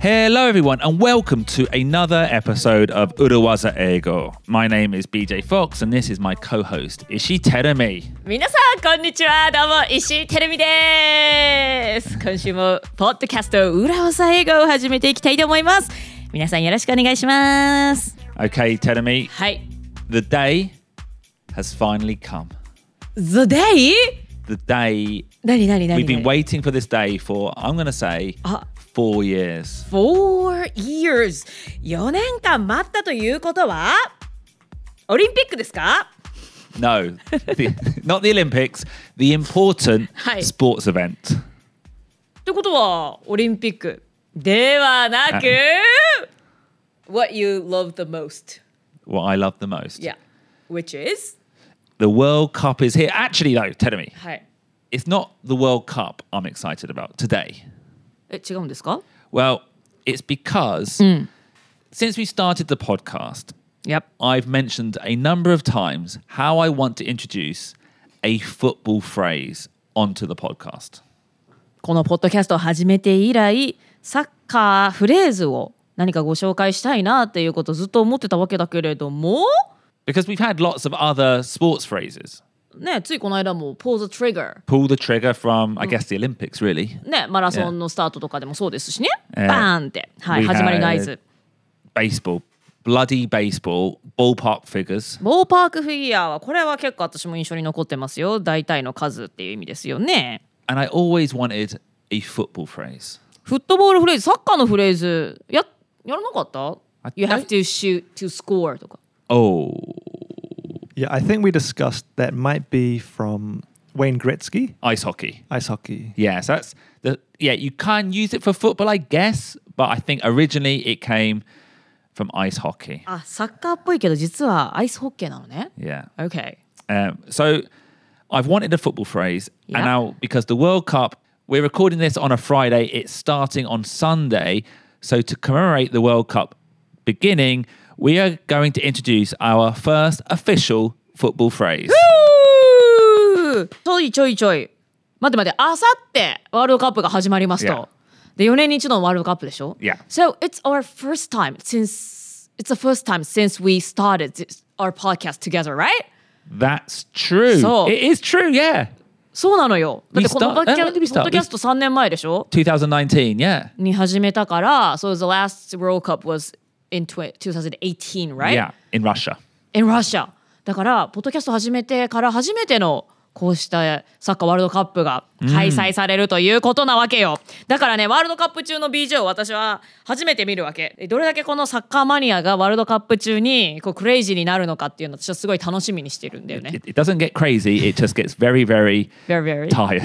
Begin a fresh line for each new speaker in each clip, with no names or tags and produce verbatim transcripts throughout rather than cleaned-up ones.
Hello everyone and welcome to another episode of Urawaza Eigo. My name is B J Fox and this is my co-host Ishii Terumi.
皆さんこんにちは。どうも石井てるみです。今週もポッドキャスト裏技英語を始めていきたいと思います。皆さんよろしくお願いします。
Okay, Terumi.
はい。
The day has finally come.
The day?
The day
何何何
we've been waiting for this day for, I'm going to say,
あ
four years.
Four years よねんかん待ったということはオリンピックですか？
No, the, not the Olympics, the important
はい。
sports event.
ってことはオリンピックではなく What you love the most.
What I love the most.
Yeah. Which is?
The World Cup is here. Actually though, Terumi,
はい。
it's not the World Cup I'm excited about today.
え、違うんですか？
Well, it's because since we started the podcast,
Yep.
I've mentioned a number of times how I want to introduce a football phrase onto the podcast.
このポッドキャストを始めて以来、サッカーフレーズを何かご紹介したいなっていうことをずっと思ってたわけだけれども、
Because we've had lots of other sports phrases.
ね、ついこの間も pull the trigger
Pull the trigger from, I guess, the Olympics, really.
ね、マラソンのスタートとかでもそうですしね、
えー
バーンって、はい、
We
始まりの合図。
Baseball, bloody baseball, ballpark figures.
ボーパークフィギュアはこれは結構私も印象に残ってますよ。大体の数っていう意味ですよね。
And I always wanted a football phrase.
フットボールフレーズ、サッカーのフレーズや、やらなかった
I-
?You have to shoot to score とか。
Oh,
Yeah, I think we discussed that might be from Wayne Gretzky,
ice hockey.
ice hockey.
Yeah, so that's the yeah, you can use it for football, I guess, but I think originally it came from ice hockey.
あ、サッカーっぽいけど実はアイスホッケーなのね。
Yeah.
Okay.
Um, so I've wanted a football phrase,
Yeah.
and now because the World Cup, we're recording this on a Friday, it's starting on Sunday. So to commemorate the World Cup beginning, we are going to introduce our first official football phrase.
ちょいちょいちょい。待って待って、あさってワールドカップが始まりますと。
Yeah.
で、よねんに一度のワールドカップでしょ？
Yeah.
So it's our first time since it's the first time since we started this, our podcast together, right?
That's true.
So-
it is true, yeah.
そうなのよ。だってこの
We start-
ポッドキャ
when did we start?
ポッドキャストさんねんまえでしょ？
twenty nineteen, yeah.
に始めたから、so the last World Cup was in twenty eighteen, right?
Yeah, in Russia.
in Russia だからポッドキャスト始めてから初めてのこうしたサッカーワールドカップが開催されるということなわけよ。だからね、ワールドカップ中の ビージェー を私は初めて見るわけ。どれだけこのサッカーマニアがワールドカップ中にこうクレイジーになるのかっていうのを私はすごい楽しみにしてるんだよね。
It, it doesn't get crazy, it just gets very, very
Very very
tired.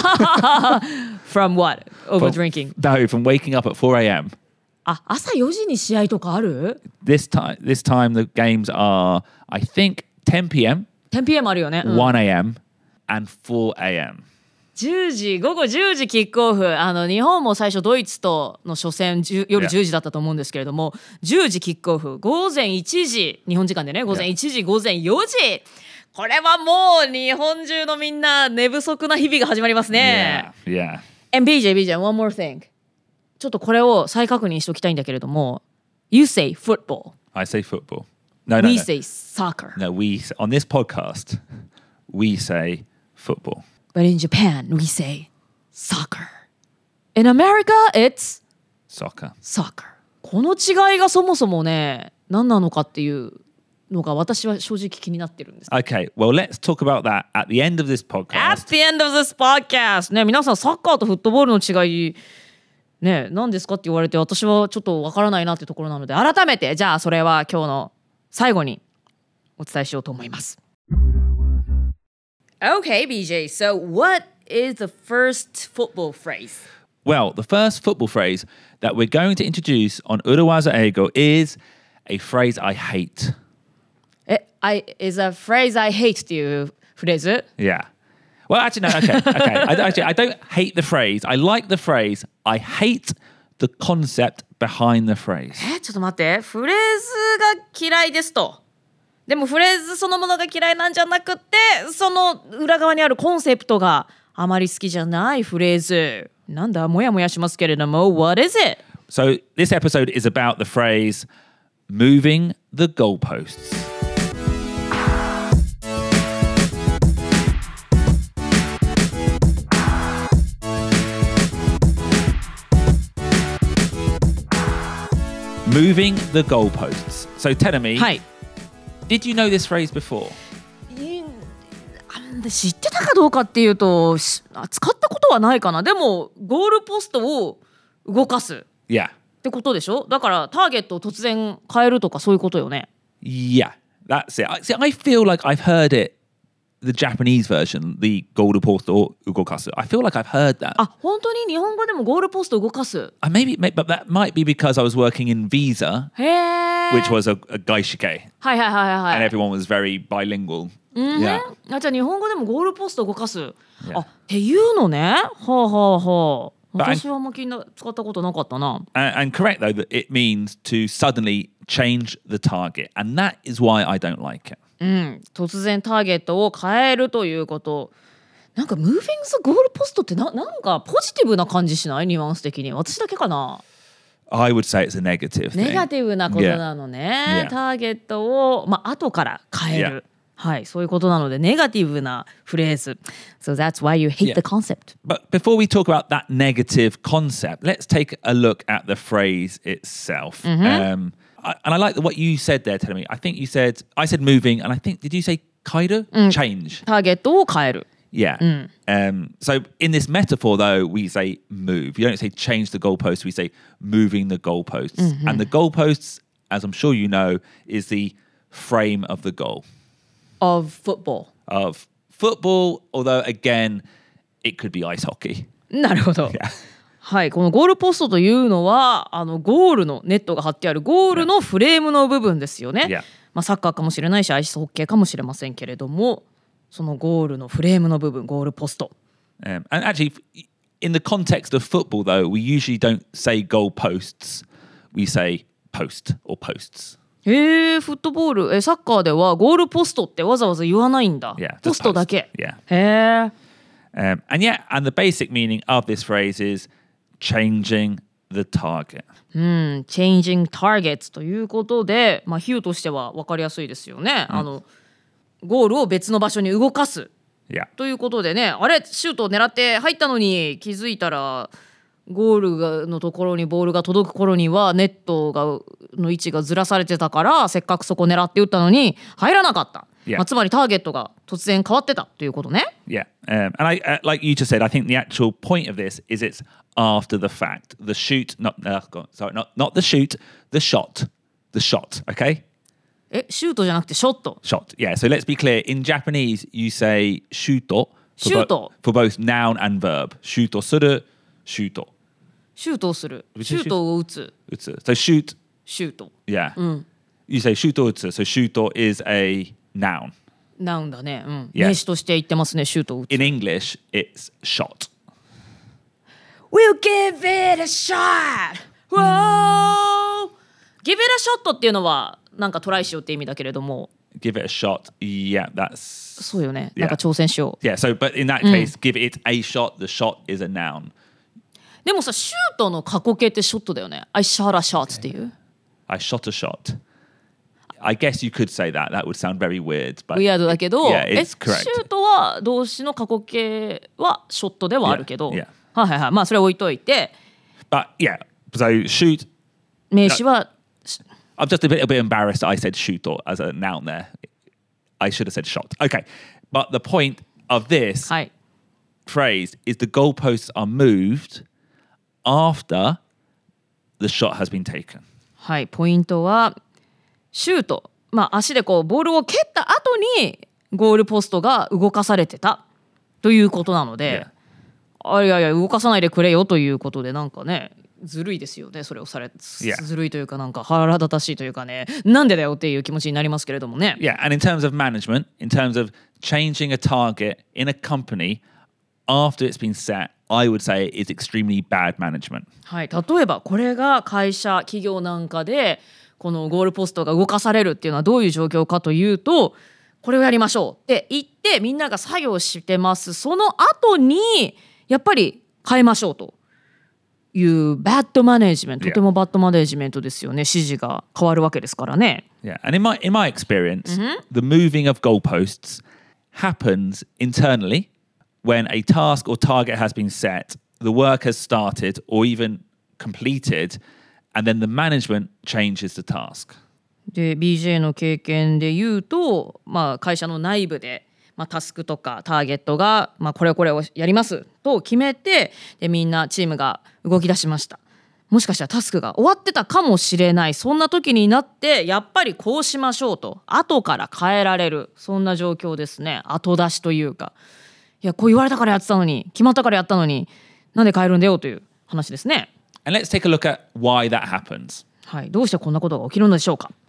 From what? Over
From-
drinking.
No, from waking up at four a.m.
あ、朝よじに試合とかある？
This time, this time the games are, I think, ten p.m.,
テンピーエム あるよね。うん、
one a.m., and four a.m.
じゅうじ、午後じゅうじキックオフ。あの日本も最初ドイツとの初戦じゅう夜
Yeah.
じゅうじだったと思うんですけれども、じゅうじキックオフ、午前いちじ、日本時間でね、午前いちじ、午前よじ。これはもう日本中のみんな寝不足な日々が始まりますね。
Yeah, yeah.
And ビージェー、ビージェー、one more thing。ちょっとこれを再確認しておきたいんだけれども、You say football.
I say football. No, no,
We
no.
say soccer.
No, we, on this podcast, we say football.
But in Japan, we say soccer. In America, it's
Soccer.
soccer. この違いがそもそもね、何なのかっていうのが私は正直気になってるんです。
Okay, well, let's talk about that at the end of this
At
podcast.
the end of this podcast ね、皆さんサッカーとフットボールの違いね、何ですかって言われて私はちょっとわからないなっていうところなので、改めてじゃあそれは今日の最後にお伝えしようと思います。Okay, ビージェー. So what is the first football phrase?
Well, the first football phrase that we're going to introduce on Urawaza Eigo is a phrase I hate.
え、I is a phrase I hate っていうフレーズ？
Yeah. Well, actually, no, okay, okay. I, actually, I don't hate the phrase. I like the phrase. I hate the concept behind the phrase.
え、ちょっと待って。フレーズが嫌いですと。でもフレーズそのものが嫌いなんじゃなくて、その裏側にあるコンセプトがあまり好きじゃないフレーズ。なんだ、もやもやしますけれども、What is it?
So this episode is about the phrase moving the goalposts. Moving the goalposts. So Tenemi,
はい。
did you know this phrase before?
知ってたかどうかっていうとし使ったことはないかな。でもゴールポストを動かす
Yeah.
ってことでしょ。だからターゲットを突然変えるとかそういうことよね。
Yeah, that's it. I, see, I feel like I've heard it, the Japanese version, the goalpost or ugokasu. I feel like I've heard that.
あ、本当に日本語でもゴールポストを動かす。
Uh, maybe, maybe, but that might be because I was working in Visa,
へえ。
which was a, a gaishike,
はいはいはいはい。
and everyone was very bilingual.
うん、
Yeah.
あ、じゃあ日本語でもゴールポストを動かす。
Yeah.
あ、っていうのね。はあはあはあ。
But I-
私はあんま気にな使ったことなかったな。
And, and correct, though, that it means to suddenly change the target. And that is why I don't like it.
うん、突然ターゲットを変えるということ。なんかムービングスゴールポストってな、なんかポジティブな感じしない？ニュアンス的に。私だけかな。
I would say it's a negative thing.
ネガティブなことなのね。
Yeah.
ターゲットを、まあ、後から変える。はい、そういうことなので、ネガティブなフレーズ。So that's why you hate
Yeah.
the concept.
But before we talk about that negative concept, let's take a look at the phrase itself. Um, I, and I like what you said there, Telemi. I think you said, I said moving, and I think, did you say kaido? Change.
ターゲットを変える。
Yeah. Um, so in this metaphor, though, we say move. You don't say change the goalpost. We say moving the goalposts. And the goalposts, as I'm sure you know, is the frame of the goal
of football.
of football. Although, again, it could be ice hockey.
なるほど。
Yeah.
はい、このゴールポストというのはあのゴールのネットが張ってあるゴールのフレームの部分ですよね。
Yeah.
まあ、サッカーかもしれないしアイスホッケーかもしれませんけれども、そのゴールのフレームの部分、ゴールポスト。
Um, and actually, in the context of football, though, we usually don't say goalposts. We say post or posts.
へえ、フットボール、えサッカーではゴールポストってわざわざ言わないんだ。
Yeah, just
ポストだけ。
post. Yeah.
へえ。
Um, and yeah, and the basic meaning of this phrase is changing the target.
うん、changing targets ということで、まあ、比喩としては分かりやすいですよね。あのゴールを別の場所に動かす
Yeah.
ということでね、あれシュートを狙って入ったのに気づいたらゴールがのところにボールが届く頃にはネットがの位置がずらされてたから、せっかくそこ狙って打ったのに入らなかった。
Yeah.
まあ、つまりターゲットが突然変わってたということね。
Yeah. Um, and I, uh, like you just said, I think the actual point of this is it's after the fact. The shoot, not, uh, go on, sorry, not, not the shoot, the shot. The shot, okay?
え、シュートじゃなくてショット。
Shot. Yeah. So let's be clear. In Japanese, you say shuto for, bo-
Shuto.
for both noun and verb. Shuto suru, shuto.
シュートをする。
Which is
シュートを打つ。
Utsu. So shoot,
シュート。
yeah. You say shuto utsu. So shuto is a noun.
ナウンだね。うん。
Yeah.
名詞として言ってますね、シュートを打つ。
In English, it's shot.
We'll give it a shot! Whoa! Give it a shot っていうのはなんかトライしようって意味だけれども、
Give it a shot. Yeah, that's
そうよね。
Yeah.
なんか挑戦しよう。
yeah. So, but in that case, give it a shot. The shot is a noun.
でもさ、シュートの過去形ってショットだよね。I shot a shot っていう。
I shot a shot. I guess you could say that. That would sound very weird, but
ウィアードだけど、
Yeah,
え
it's
シ
correct.
ュートは動詞の過去形はショットではあるけど、
Yeah, yeah.
はいはいはい。まあそれ置いといて、
but yeah. So shoot.
名詞は
I'm just a bit a bit embarrassed. I said shoot or as a noun there. I should have said shot. Okay, but the point of this
はい。
phrase is the goalposts are moved after the shot has been taken.
はい、ポイントはシュート、まあ、足でこうボールを蹴った後にゴールポストが動かされてたということなので、あいやいや動かさないでくれよということで、なんかねずるいですよね。それをされ
Yeah.
ずるいというか、なんか腹立たしいというかね、なんでだよっていう気持ちになりますけれどもね。
Yeah, and in terms of management, in terms of changing a target in a company after it's been set, I would say it is extremely bad management.
はい、例えばこれが会社企業なんかでこのゴールポストが動かされるっていうのはどういう状況かというと、これをやりましょうって言ってみんなが作業してます。その後にやっぱり変えましょうというバッドマネージメント、
Yeah.
とてもバッドマネージメントですよね。指示が変わるわけですからね。
Yeah, and in my in my experience, the moving of goalposts happens internally when a task or target has been set, the work has started or even completed, and then the management changes the task.
で ビージェー の経験で言うと、まあ、会社の内部で、まあ、タスクとかターゲットが、まあ、これこれをやりますと決めて、でみんなチームが動き出しました。もしかしたらタスクが終わってたかもしれない。そんな時になってやっぱりこうしましょうと後から変えられる、そんな状況ですね。後出しというか、いやこう言われたからやってたのに、決まったからやったのになんで変えるんだよという話ですね。
And let's take a look at why that happens.
はい、どうしてこんなことが起きるのでしょうか。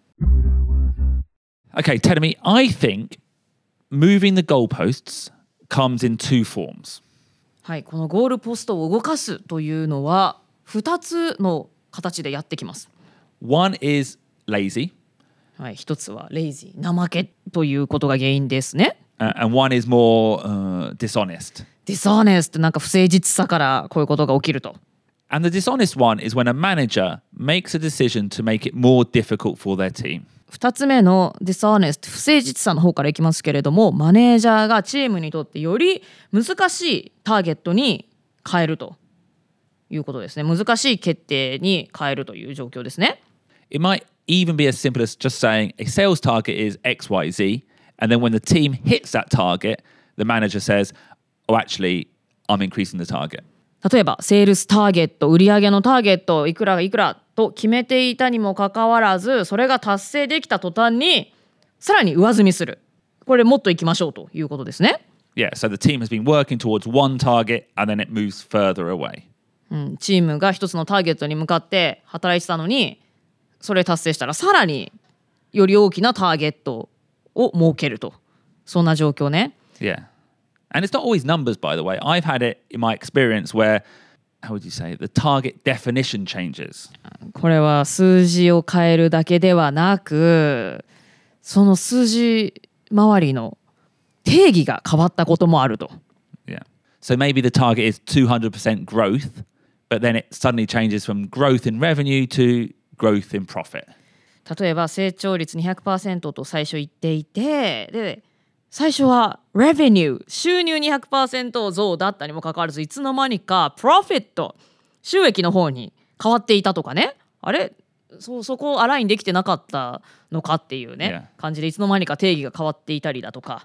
Okay, Tedemi, I think moving the goalposts comes in two forms.
はい、このゴールポストを動かすというのはふたつの形でやってきます。
One is lazy,
はい、一つはレイジー、怠けということが原因ですね。
uh, and one is more uh, dishonest.
ディスオネスト、なんか不誠実さからこういうことが起きると。
And the dishonest one is when a manager makes a decision to make it more difficult for their team.
二つ目のディスオネスト、不誠実さの方からいきますけれども、マネージャーがチームにとってより難しいターゲットに変えるということですね。難しい決定に変えるという状況ですね。
It might even be as simple as just saying a sales target is X Y Z, and then when the team hits that target, the manager says, oh, actually, I'm increasing the target.
例えばセールスターゲット、売上のターゲットいくらがいくらと決めていたにもかかわらず、それが達成できた途端にさらに上積みする。これもっといきましょうということですね。
Yeah, so the team has been working towards one target and then it moves further away.
うん、チームが一つのターゲットに向かって働いてたのに、それ達成したらさらにより大きなターゲットを設けると、そんな状況ね。
Yeah. And it's not always numbers, by the way. I've had it in my experience where, how would you say, the target definition changes.
これは数字を変えるだけではなく、その数字周りの定義が変わったこともあると。
Yeah. So maybe the target is two hundred percent growth, but then it suddenly changes from growth in revenue to growth in profit.
例えば成長率 にひゃくパーセント と最初言っていて、で最初は revenue 収入 にひゃくパーセント 増だったにもかかわらず、いつの間にか profit 収益の方に変わっていたとかね。あれ そ, そこアラインできてなかったのかっていうね、
Yeah.
感じでいつの間にか定義が変わっていたりだとか。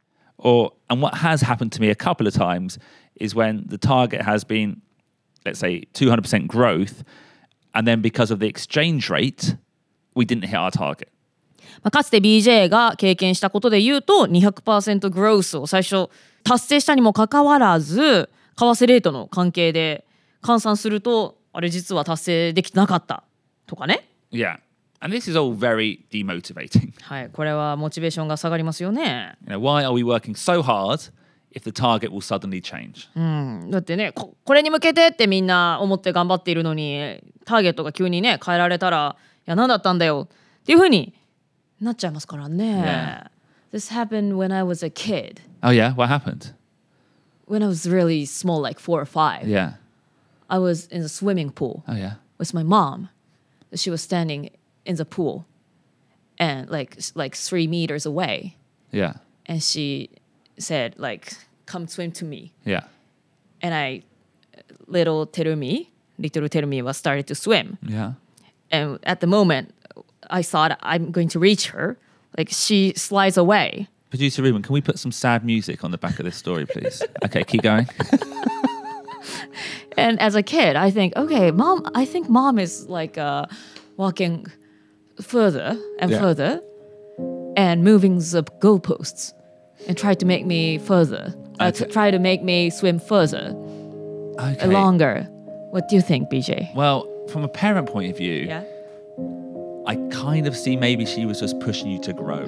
Or, and what has happened to me a couple of times is when the target has been, let's say, two hundred percent growth, and then because of the exchange rate, we didn't hit our target.
まあ、かつて ビージェー が経験したことで言うと にひゃくパーセント グロースを最初達成したにもかかわらず、為替レートの関係で換算するとあれ実は達成できてなかったとかね。
Yeah. And this is all very demotivating.
はい、これはモチベーションが下がりますよね。
You know, why are we working so hard if the target will suddenly change?
うん、だってね こ, これに向けてってみんな思って頑張っているのに、ターゲットが急にね変えられたら、いや何だったんだよっていう風になっちゃいますからね。
Yeah.
This happened when I was a kid.
Oh, yeah? What happened?
When I was really small, like four or five.
Yeah.
I was in a swimming pool
Oh, yeah.
with my mom. She was standing in the pool and like like three meters away,
Yeah.
and she said like, "Come swim to me."
Yeah.
And I, little Terumi, little Terumi was started to swim.
Yeah.
And at the moment, I thought I'm going to reach her. Like she slides away.
Producer Ruben, can we put some sad music on the back of this story, please? Okay, keep going.
And as a kid, I think, okay, mom, I think mom is like uh, walking further and
Yeah.
further and moving the goalposts and try to make me further, uh, to
Okay.
try to make me swim further,
Okay.
longer. What do you think, B J?
Well, from a parent point of view,
Yeah.
I kind of see maybe she was just pushing you to grow.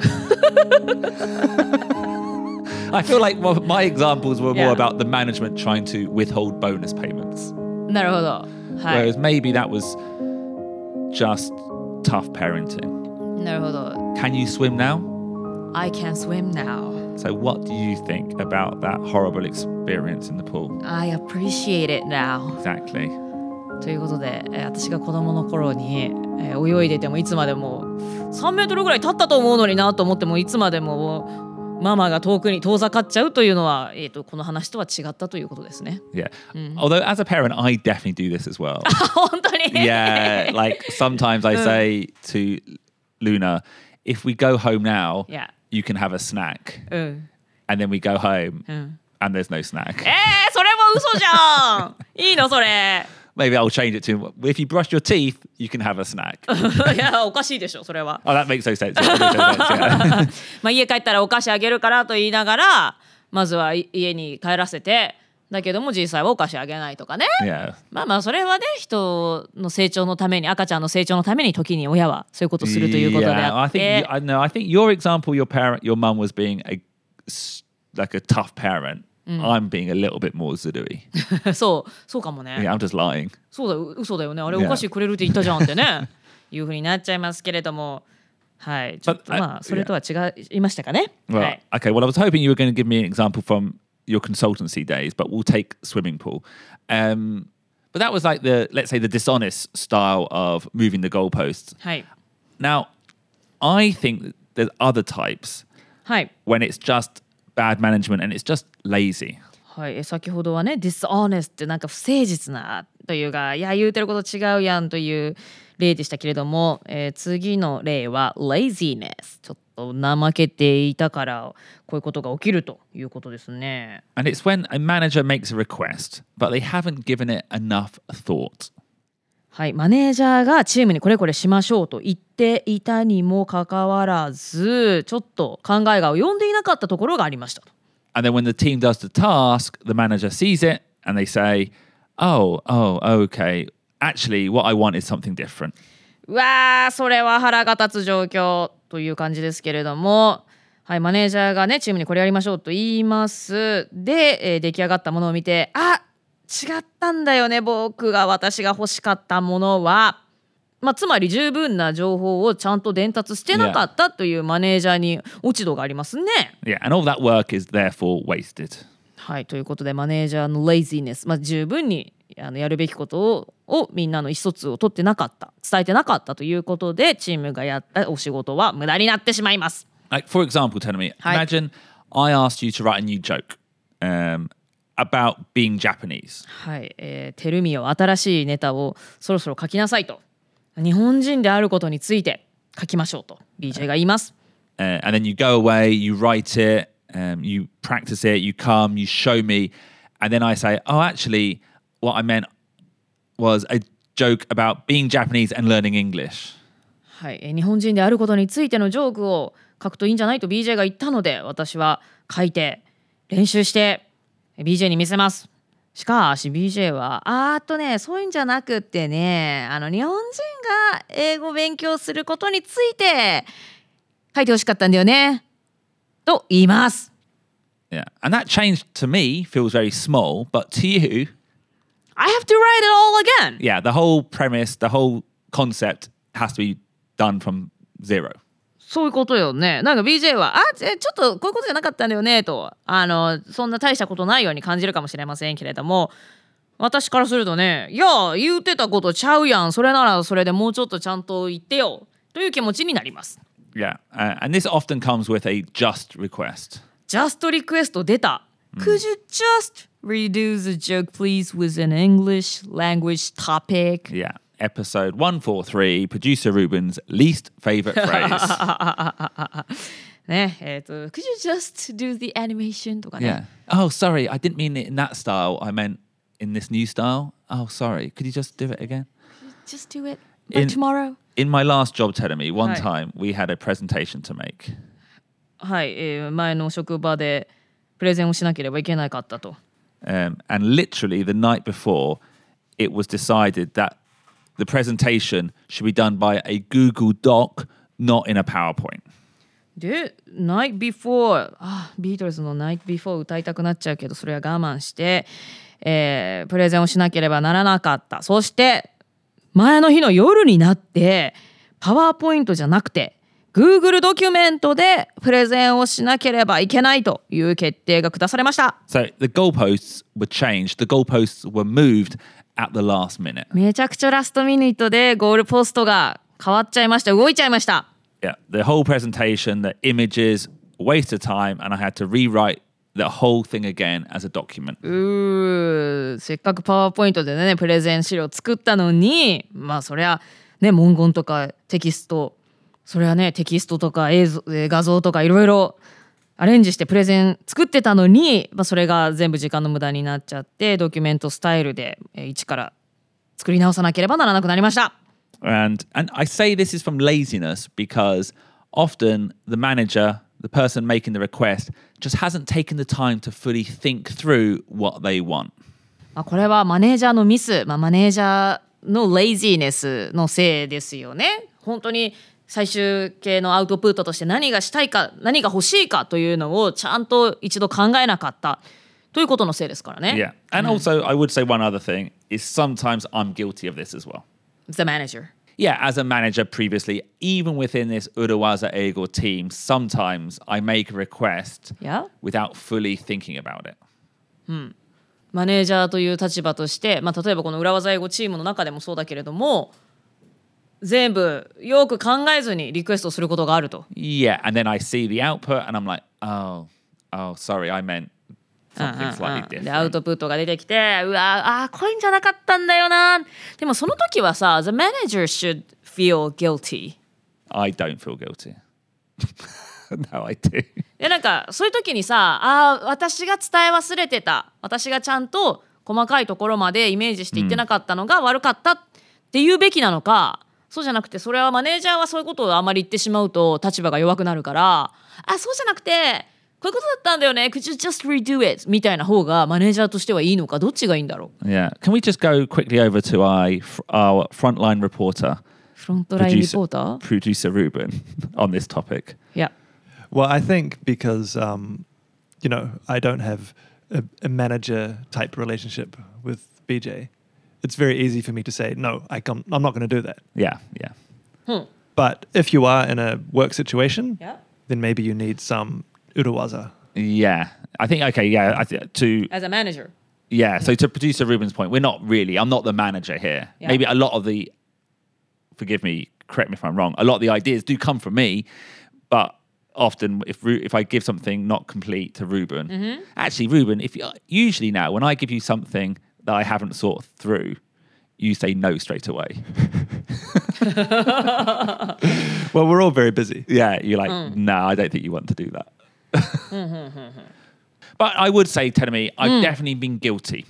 I feel like well, my examples were more
Yeah.
about the management trying to withhold bonus payments.
なるほど。はい。
Whereas maybe that was just tough parenting.
なるほど。
Can you swim now?
I can swim now.
So what do you think about that horrible experience in the pool?
I appreciate it now.
Exactly.
ということで、えー私が子供の頃に、えー泳いでてもいつまでもさんメートルぐらい経ったと思うのになと思ってもいつまでもママが遠くに遠ざかっちゃうというのは、えー、とこの話とは違ったということですね。
Yeah. Although as a parent, I definitely do this as well.
本当に
Yeah. Like sometimes I say to Luna, if we go home now,
Yeah.
you can have a snack.
うん、
And then we go home
うん、
and there's no snack.
えー、それも嘘じゃんいいのそれ
Maybe I'll change it to if you brush your teeth, you can have a snack.
いやおかしいでしょそれは。
Oh, that makes no sense. That makes no sense, yeah.
まあ家帰ったらお菓子あげるからと言いながらまずはい家に帰らせてだけども実際はお菓子あげないとかね。
Yeah.
まあまあそれはね人の成長のために赤ちゃんの成長のために時に親はそういうことをするということで
Yeah,
あ
I
っ
think
て
you, I know. I think your example, your parent, your mum was being a s- like a tough parent. I'm being a little bit more zudui.
そうそうかもね。
Yeah, I'm just lying.
そうだよ嘘だよねあれ
Yeah.
お菓子くれるって言ったじゃんってねいうふうになっちゃいますけれどもはいちょっと
But, uh,
まあそれとは違いましたかね。
Well,
はい
okay. Well, I was hoping you were going to give me an example from your consultancy days, but we'll take swimming pool. Um, but that was like the, let's say, the dishonest style of moving the goalposts.
はい
Now, I think that there's other types
はい
when it's just bad management and it's just lazy.
はい、え先ほどはね dishonest ってなんか不誠実なというかいや言うてること違うやんという例でしたけれども、えー次の例は laziness ちょっと怠けていたからこういうことが起きるということですね。
And it's when a manager makes a request, but they haven't given it enough thought.
はい、マネージャーがチームにこれこれしましょうと言っていたにもかかわらずちょっと考えが及んでいなかったところがありましたと。
And then when the team does the task, the manager sees it and they say, oh, oh, okay. Actually, what I want is something different.
うわーそれは腹が立つ状況という感じですけれども、はい、マネージャーがねチームにこれやりましょうと言いますで、えー出来上がったものを見てあ違ったんだよね僕が私が欲しかったものは、まあ、つまり十分な情報をちゃんと伝達してなかったというマネージャーに落ち度がありますね。
Yeah, and all that work is therefore wasted.
はいということでマネージャーの laziness、まあ、十分にあのやるべきことををみんなの意思疎通を取ってなかった伝えてなかったということでチームがやったお仕事は無駄になってしまいます。
Like, for example, Tenami,
Hi.
imagine I asked you to write a new joke um, about being Japanese.
はい、えー、テルミオ新しいネタをそろそろ書きなさいと日本人であることについて書きましょうと ビージェー が言います。
Uh, and then you go away, you write it, um, you practice it, you come, you show me, and then I say, oh, actually, what I meant was a joke about being Japanese and learning English.
はい、えー日本人であることについてのジョークを書くといいんじゃないと ビージェー が言ったので私は書いて練習して ビージェー に見せます。しかし ビージェー はあーっとねそういうんじゃなくってねあの日本人が英語を勉強することについて書いてほしかったんだよねと言います。
Yeah. And that change to me feels very small, but to you,
I have to write it all again.
yeah, the whole premise, the whole concept has to be done from zero.
そういうことよね。なんか ビージェー はあちょっとこういうことじゃなかったんだよねとあのそんな大したことないように感じるかもしれませんけれども私からするとねいや言うてたことちゃうやんそれならそれでもうちょっとちゃんと言ってよという気持ちになります。
Yeah. Uh, and this often comes with a just request.
Just request 出た、Could you just redo the joke please with an English language topic?
Yeah. Episode one forty-three, producer Ruben's least favorite phrase.
ねえっ、と Could you just do the animation とかね。
Yeah. Oh, sorry. I didn't mean it in that style. I meant in this new style. Oh, sorry. Could you just do it again?
Just do it by
In-
tomorrow.
In my last job, telling me one
Hi.
time we had a presentation to make.
はい、えー前の職場でプレゼンをしなければいけなかったと。
Um, and literally the night before, it was decided that the presentation should be done by a Google Doc, not in a PowerPoint.
で、Night Before、あ、ビートルズの Night Before 歌いたくなっちゃうけど、それは我慢して、えープレゼンをしなければならなかった。そして、前の日の夜になって、パワーポイントじゃなくて、Google ドキュメントでプレゼンをしなければいけないという決定が下されました。
So the goalposts were changed, the goalposts were moved, at the last minute.
めちゃくちゃラストミニットでゴールポストが変わっちゃいました。動いちゃいました。
Yeah, the whole presentation, the images, waste of time, and I had to rewrite the whole thing again as a document.
うーせっかくパワーポイントでねプレゼン資料作ったのに、まあそりゃね文言とかテキスト、それはねテキストとか映像画像とかいろいろアレンジしてプレゼン作ってたのに、まあ、それが全部時間の無駄になっちゃってドキュメントスタイルで一から作り直さなければならなくなりました。
And and I say this is from laziness because often the manager, the person making the request, just hasn't taken the time to fully think through what they want.
まあこれはマネージャーのミス、まあ、マネージャーのレイジーネスのせいですよね。本当に最終形のアウトプットとして何がしたいか何が欲しいかというのをちゃんと一度考えなかったということのせいですからね。
Yeah. And also I would say one other thing is sometimes I'm guilty of this as well.
The manager.
Yeah, as a manager previously, even within this Urawaza Eigo team, sometimes I make a request
Yeah.
without fully thinking about it.
マネージャーという立場として、まあ、例えばこの裏技英語チームの中でもそうだけれども全部よく考えずにリクエストすることがあると。
Yeah, and then I see the output and I'm like, oh, oh, sorry, I meant something slightly
でアウ
different.
トプットが出てきてうわあこういうんじゃなかったんだよな。でもその時はさ The manager should feel guilty.
I don't feel guilty. No, I do.
でなんかそういう時にさあ私が伝え忘れてた私がちゃんと細かいところまでイメージして言ってなかったのが悪かったって言うべきなのか、そうじゃなくてそれはマネージャーはそういうことをあまり言ってしまうと立場が弱くなるからあそうじゃなくてこういうことだったんだよね Could you just redo it みたいな方がマネージャーとしてはいいのかどっちがいいんだろう。
Yeah. Can we just go quickly over to our, our frontline reporter,
フロントラインリ
producer,
ポーター
producer Ruben, on this topic?
いや
Well, I think because, um, you know, I don't have a, a manager type relationship with B J, it's very easy for me to say, no, I can't, I'm not going to do that.
Yeah, yeah.
But if you are in a work situation,
Yeah.
then maybe you need some uruwaza.
Yeah. I think, okay, yeah, I th- to...
As a manager
Yeah, so to producer Ruben's point, we're not really, I'm not the manager here.
Yeah.
Maybe a lot of the, forgive me, correct me if I'm wrong, a lot of the ideas do come from me, but often if Ru- if I give something not complete to Ruben,
Mm-hmm.
actually, Ruben, if you, usually now, when I give you something that I haven't thought through, you say no straight away.
Well, we're all very busy.
Yeah, you're like, no, I don't think you want to do that. But I would say, Tenemi, I've definitely been guilty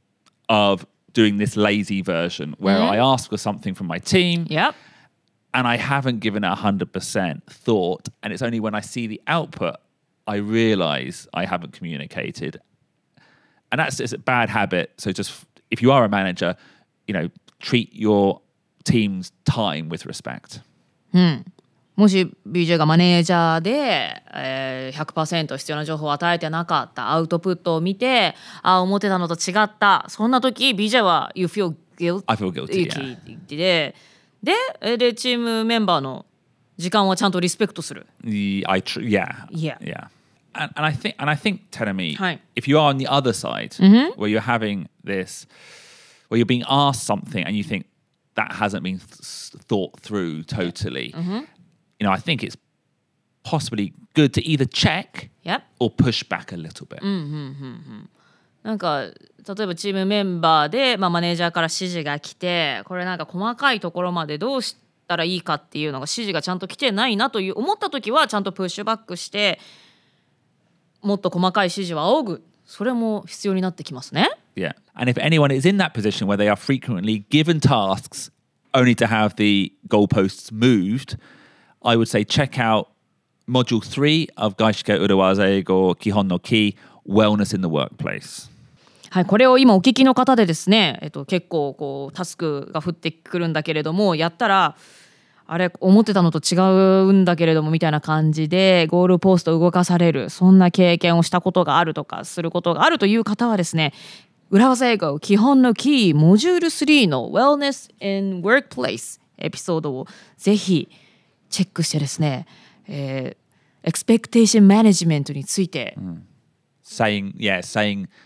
of doing this lazy version where I ask for something from my team
Yep.
and I haven't given it one hundred percent thought. And it's only when I see the output, I realize I haven't communicated. And that's it's a bad habit. So just, if you are a manager, you know, treat your team's time with respect.
もし ビージェー がマネージャーで、えー、ひゃくパーセント 必要な情報を与えてなかったアウトプットを見てあ思ってたのと違ったそんな時 ビージェー は You feel guilty
I feel guilty, yeah.
ででえでチームメンバーの時間はちゃんとリスペクトする。
The- I tr- yeah.
Yeah.
Yeah. And, and I think, and I think, Tenemi,
Hi.
if you are on the other side, where you're having this, where you're being asked something and you think that hasn't been th- thought through totally, you know, I think it's possibly good to either check
Yep.
or push back a little bit.
なんか例えばチームメンバーで、まあ、マネージャーから指示が来てこれなんか細かいところまでどうしたらいいかっていうのが指示がちゃんと来てないなという思った時はちゃんとプッシュバックしてもっと細かい指示を仰ぐそれも必要になってきますね。
Yeah. And if anyone is in that position where they are frequently given tasks only to have the goalposts moved, I would say check out module three of Gaishike Urawaza Eigo Kihon no Ki, Wellness in the Workplace.
はい、これを今お聞きの方でですね、えっと、結構こうタスクが降ってくるんだけれどもやったらあれ思ってたのと違うんだけれどもみたいな感じでゴールポスト動かされるそんな経験をしたことがあるとかすることがあるという方はですね裏技英語基本のキーモジュールスリーの Wellness in Workplace エピソードをぜひチェックしてですね、えー、エクスペクテーションマネジメントについて、
saying, yeah, saying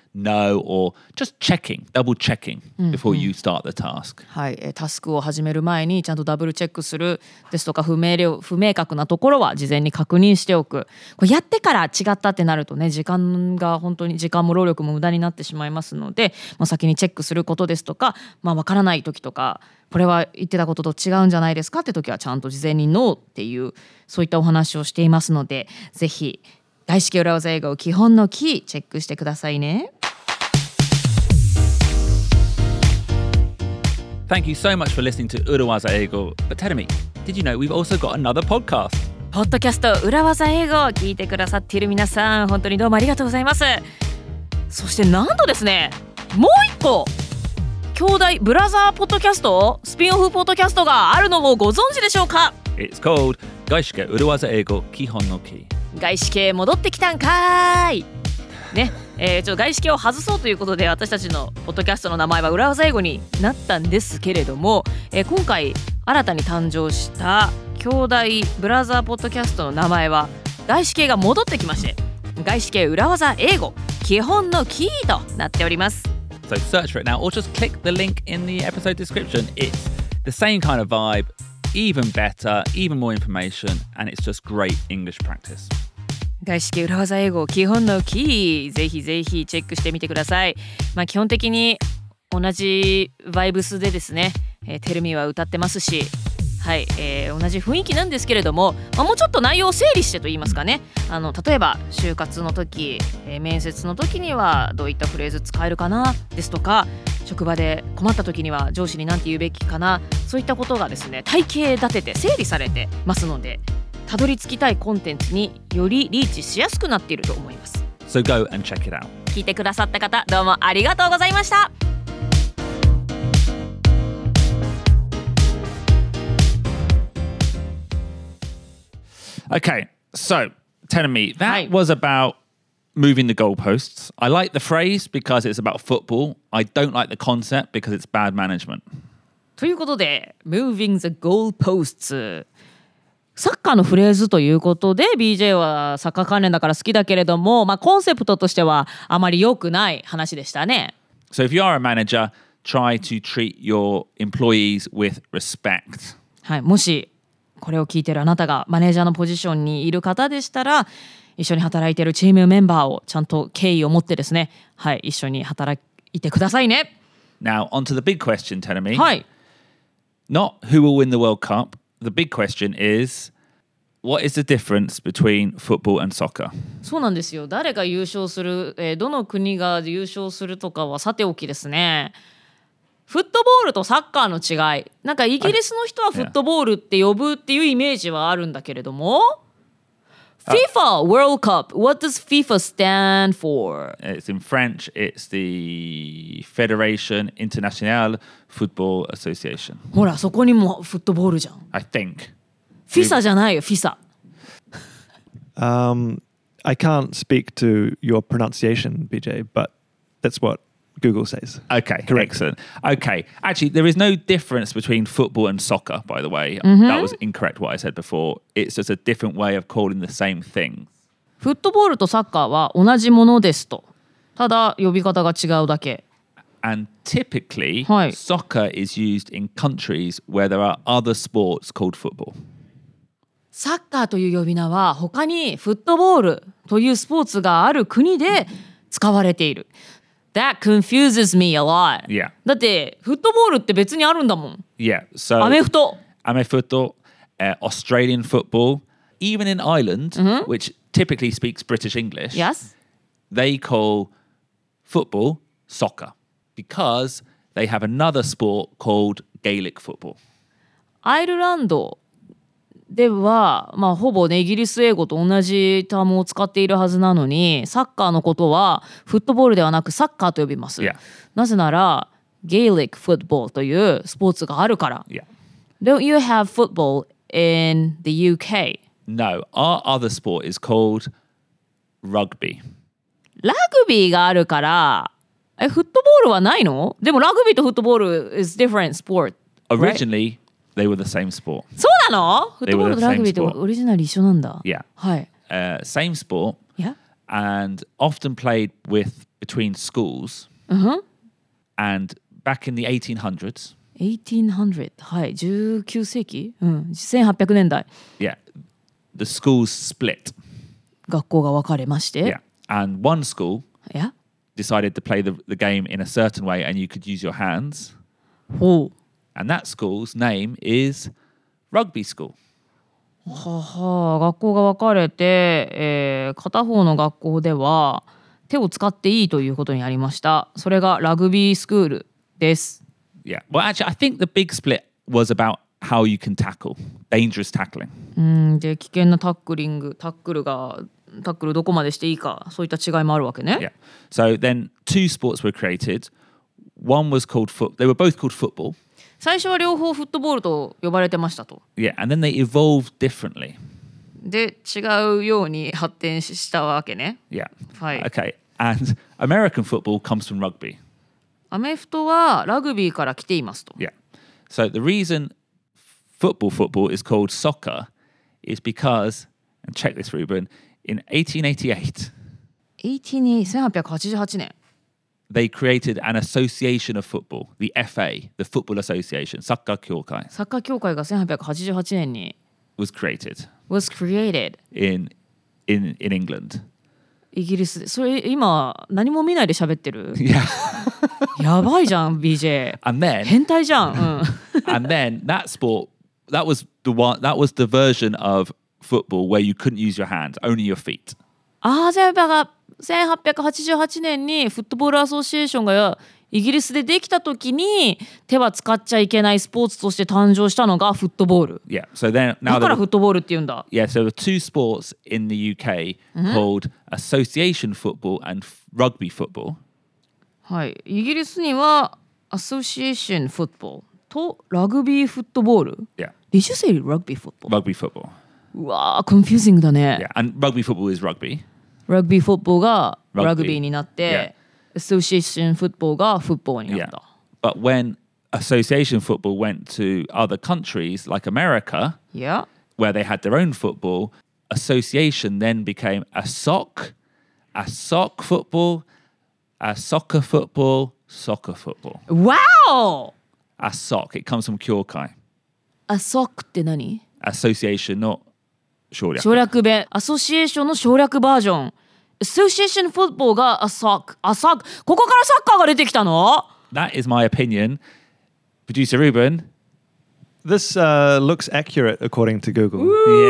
no or just checking, double checking before you start the task.
はい、えータスクを始める前にちゃんとダブルチェックするですとか、不明瞭不明確なところは事前に確認しておく。これやってから違ったってなるとね、時間が本当に時間も労力も無駄になってしまいますので、まあ、先にチェックすることですとか、まあ、分からない時とか、これは言ってたことと違うんじゃないですかって時はちゃんと事前にノーっていうそういったお話をしていますので、ぜひ外資系裏技英語基本のキーチェックしてくださいね。
Thank you so much for listening to Urawaza Eigo. But tell me, did you know we've also got another podcast?
ポッドキャスト裏技英語を聞いてくださっている皆さん、本当にどうもありがとうございます。そしてなんとですね、もう一個兄弟ブラザーポッドキャスト、スピンオフポッドキャストがあるのをご存知でしょうか。
It's called Gaishike Urawaza Eigo Kihon no Ki.
外資系戻ってきたんかーいね、えー、ちょっと外資系を外そうということで私たちのポッドキャストの名前は裏技英語になったんですけれども、えー、今回新たに誕生した兄弟ブラザーポッドキャストの名前は外資系が戻ってきまして、外資系裏技英語基本のキーとなっております。
So search for it now or just click the link in the episode description. It's the same kind of vibe, even better, even more information, and it's just great English practice.
外資系裏技英語基本のキー、ぜひぜひチェックしてみてください。まあ、基本的に同じバイブスでですね、えー、テルミは歌ってますし、はい、えー、同じ雰囲気なんですけれども、まあ、もうちょっと内容を整理してと言いますかね、あの例えば就活の時、えー、面接の時にはどういったフレーズ使えるかなですとか、職場で困った時には上司に何て言うべきかな、そういったことがですね体系立てて整理されてますので、たどり着きたいコンテンツによりリーチしやすくなっていると思います。
So go and check it out.
聞いてくださった方、どうもありがとうございました。
Okay, so telling me that
Hi.
was about moving the goalposts. I like the phrase because it's about football. I don't like the concept because it's bad management.
ということで Moving the goalposts、 サッカーのフレーズということで ビージェー はサッカー関連だから好きだけれども、まあ、コンセプトとしてはあまり良くない話でしたね。
So if you are a manager, try to treat your employees with respect.
はい、もしこれを聞いているあなたがマネージャーのポジションにいる方でしたら、一緒に働いているチームメンバーをちゃんと敬意を持ってですね、はい、一緒に働いてくださいね。
Now, on to the big question, Tenemi.
はい。
Not who will win the World Cup. The big question is, what is the difference between football and soccer?
そうなんですよ。誰が優勝する、えー、どの国が優勝するとかはさておきですね。フットボールとサッカーの違い、なんかイギリスの人はフットボールって呼ぶっていうイメージはあるんだけれども、FIFA World Cup, what does FIFA stand for?
It's in French. It's the Fédération Internationale Football Association.
ほら、そこにもフットボールじゃん。
I think.
フィサじゃないよ、フィサ。
Um, I can't speak to your pronunciation, B J, but that's what Google says.
Okay,
Correct.
excellent. Okay, actually, there is no difference between football and soccer, by the way. That was incorrect what I said before. It's just a different way of calling the same thing.
フットボールとサッカーは同じものですと。ただ呼び方が違うだけ。
And typically,
はい。
soccer is used in countries where there are other sports called football.
サッカーという呼び名は他にフットボールというスポーツがある国で使われている。That confuses me a lot.
Yeah.
だってフットボールって別にあるんだもん。
Yeah, so
アメフト。
Amefuto, uh, Australian football, even in Ireland, which typically speaks British English,
Yes.
they call football soccer because they have another sport called Gaelic football.
アイルランドでは、まあ、ほぼねイギリス英語と同じタームを使っているはずなのに、サッカーのことはフットボールではなくサッカーと呼びます。
Yeah.
なぜならゲイリックフットボールというスポーツがあるから。
Yeah.
Don't you have football in the ユーケー?
No, our other sport is called rugby.
ラグビーがあるからえフットボールはないの？でもラグビーとフットボール is different sport.
Originally, they were the same sport.
そうなの？フットボールと
They were the
ラグビー
same
ってオリジナル一緒なんだ。
Yeah.
はい。
Uh, same sport
Yeah.
and often played with between schools.
うんふん
And back in the eighteen hundreds,
エイティーンハンドレッド はいじゅうきゅう世紀うんせんはっぴゃくねんだい
yeah, the schools split.
学校が分かれまして
Yeah. And one school
いや
decided to play the, the game in a certain way and you could use your hands.
ほう
And that school's name is rugby school.
ははあ学校が分かれて、えー片方の学校では手を使っていいということになりました。それがラグビースクールです。
Yeah. Well, actually, I think the big split was about how you can tackle, dangerous tackling.
うんで危険なタックリングタックルがタックルどこまでしていいかそういった違いもあるわけね。
Yeah. So then two sports were created. One was called foot. They were both called football.
最初は両方フットボールと呼ばれてましたと。
Yeah. And then they evolved differently.
で違うように発展したわけね。
Yeah.
はい。
Okay. And American football comes from rugby.
アメフトはラグビーから来ていますと。
Yeah. So the reason football football is called soccer is because, and check this, Ruben, in eighteen eighty-eight,
せんはっぴゃくはちじゅうはちねん
they created an association of football, the F A, the Football Association, サッカー協会
サッカー協会がせんはっぴゃくはちじゅうはちねんに
was created
was created
in in in England.
イギリスでそれ今何も見ないで喋ってる
Yeah.
やばいじゃん ビージェー
And then
変態じゃん、うん、
and then that sport that was the one that was the version of football where you couldn't use your hands, only your feet.
ああせんはっぴゃくはちじゅうはちねんにフットボールアソシエーションがイギリスでできた時に手は使っちゃいけないスポーツとして誕生したのがフットボール
Yeah. So then
だ
now
から
there
フットボールって言うんだ
yeah, so there were two sports in the U K called association football and f- rugby football.
はいイギリスにはアソシエーションフットボールとラグビーフットボール
Yeah.
Did you say rugby football?
Rugby football.
うわーコンフュージングだね
Yeah. And rugby football is rugby.
ラグビーフットボールが
Rugby
ラグビーになって Association フットボールがフットボールにな
Yeah.
った
But when association football went to other countries like America,
いや
where they had their own football, association then became a soc, a soc football, a soccer football, soccer football.
わお
A soc, it comes from Kyokai.
アソックって何
Association, not 省略。
省略弁アソシエーションの省略バージョン Association フットボールがアソックアソックここからサッカーが出てきたの
That is my opinion. Producer Ruben.
This uh, looks accurate according to Google.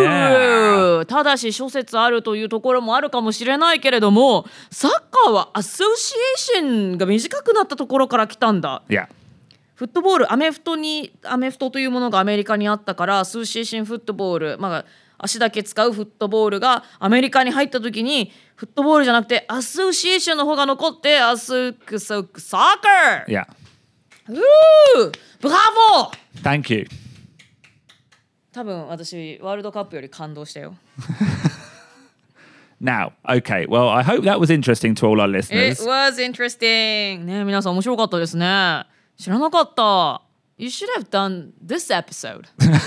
Yeah.
ただし諸説あるというところもあるかもしれないけれどもサッカーはアソシエーションが短くなったところから来たんだ
Yeah.
フットボールアメフトにアメフトというものがアメリカにあったからアソシエーションフットボールまあ足だけ使うフットボールがアメリカに入った時にフットボールじゃなくてアソシエーションの方が残ってアソクソクサッカー
Yeah.
うーブラボー
Thank you.
多分私ワールドカップより感動したよ
Now, okay. Well, I hope that was interesting to all our
It
listeners.
was interesting ね皆さん面白かったですね知らなかった You should have done this episode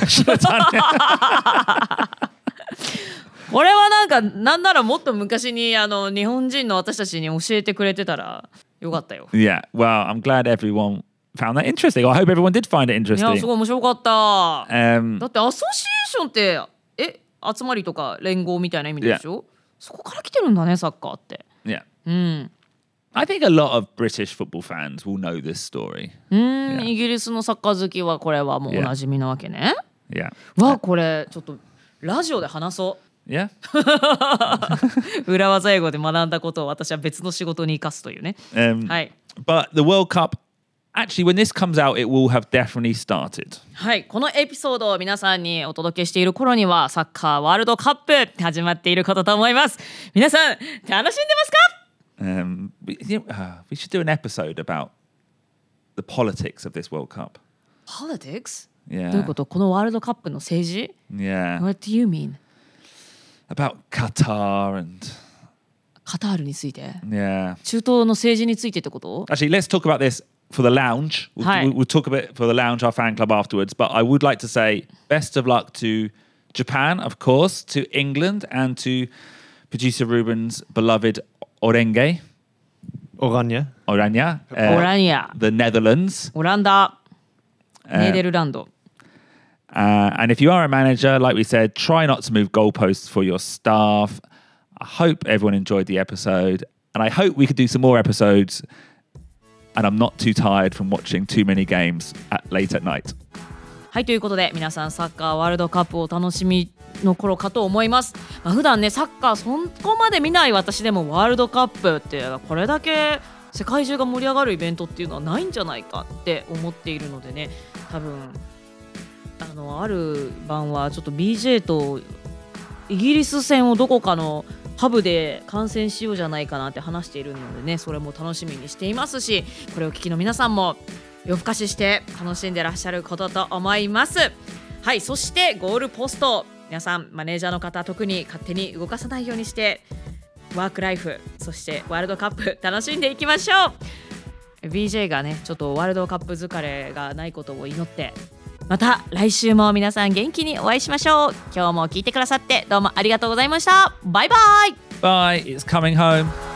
これはなんかなんならもっと昔にあの日本人の私たちに教えてくれてたらよかったよ
Yeah. Well, I'm glad everyone found that interesting. I hope everyone did find it
いやす
interesting.
ごい面白かった
Um,
だってアソシエーションってえ集まりとか連合みたいな意味でしょ、そこから来てるんだねサッカーって
yeah.
うん
I think a lot of British football fans will know this story.
うーん、
Yeah.
イギリスのサッカー好きはこれはもうおなじみなわけね、
Yeah.
わあこれちょっとラジオで話そ
Yeah.
う裏技英語で学んだことを私は別の仕事に生かすというね
Um,
はい
But the World Cup, actually, when this comes out, it will have definitely started.
はいこのエピソードを皆さんにお届けしている頃にはサッカーワールドカップ始まっていることと思います皆さん楽しんでますか
Um, we, you know, uh, we should do an episode about the politics of this World Cup.
Politics?
Yeah.
どういうことこのワールドカップの政治
Yeah.
What do you mean?
About Qatar and
カタールについて
yeah.
中東の政治についてってこと
Actually, let's talk about this for the lounge. We'll,
Hi.
we'll, we'll talk a bit for the lounge, our fan club afterwards. But I would like to say best of luck to Japan, of course, to England, and to producer Ruben's beloved Orenge.
Oranje.
Oranje, uh,
オラニア、
the Netherlands.
オランダ、ネーデルランド。
Uh, and if you are a manager, like we said, try not to move goalposts for your staff. I hope everyone enjoyed the episode, and I hope we could do some more episodes. And I'm not too tired from watching too many games at, late at night.
はい、ということで皆さんサッカーワールドカップをお楽しみの頃かと思います。まあ、普段ねサッカーそこまで見ない私でもワールドカップってこれだけ世界中が盛り上がるイベントっていうのはないんじゃないかって思っているのでね、多分あのある晩はちょっと ビージェー とイギリス戦をどこかのパブで観戦しようじゃないかなって話しているのでね、それも楽しみにしていますし、これを聞きの皆さんも夜更かしして楽しんでらっしゃることと思います。はい、そしてゴールポスト、皆さんマネージャーの方特に勝手に動かさないようにしてワークライフ、そしてワールドカップ楽しんでいきましょう。 ビージェー がねちょっとワールドカップ疲れがないことを祈って、また来週も皆さん元気にお会いしましょう。今日も聞いてくださってどうもありがとうございました。バイバイ。
Bye, it's coming home.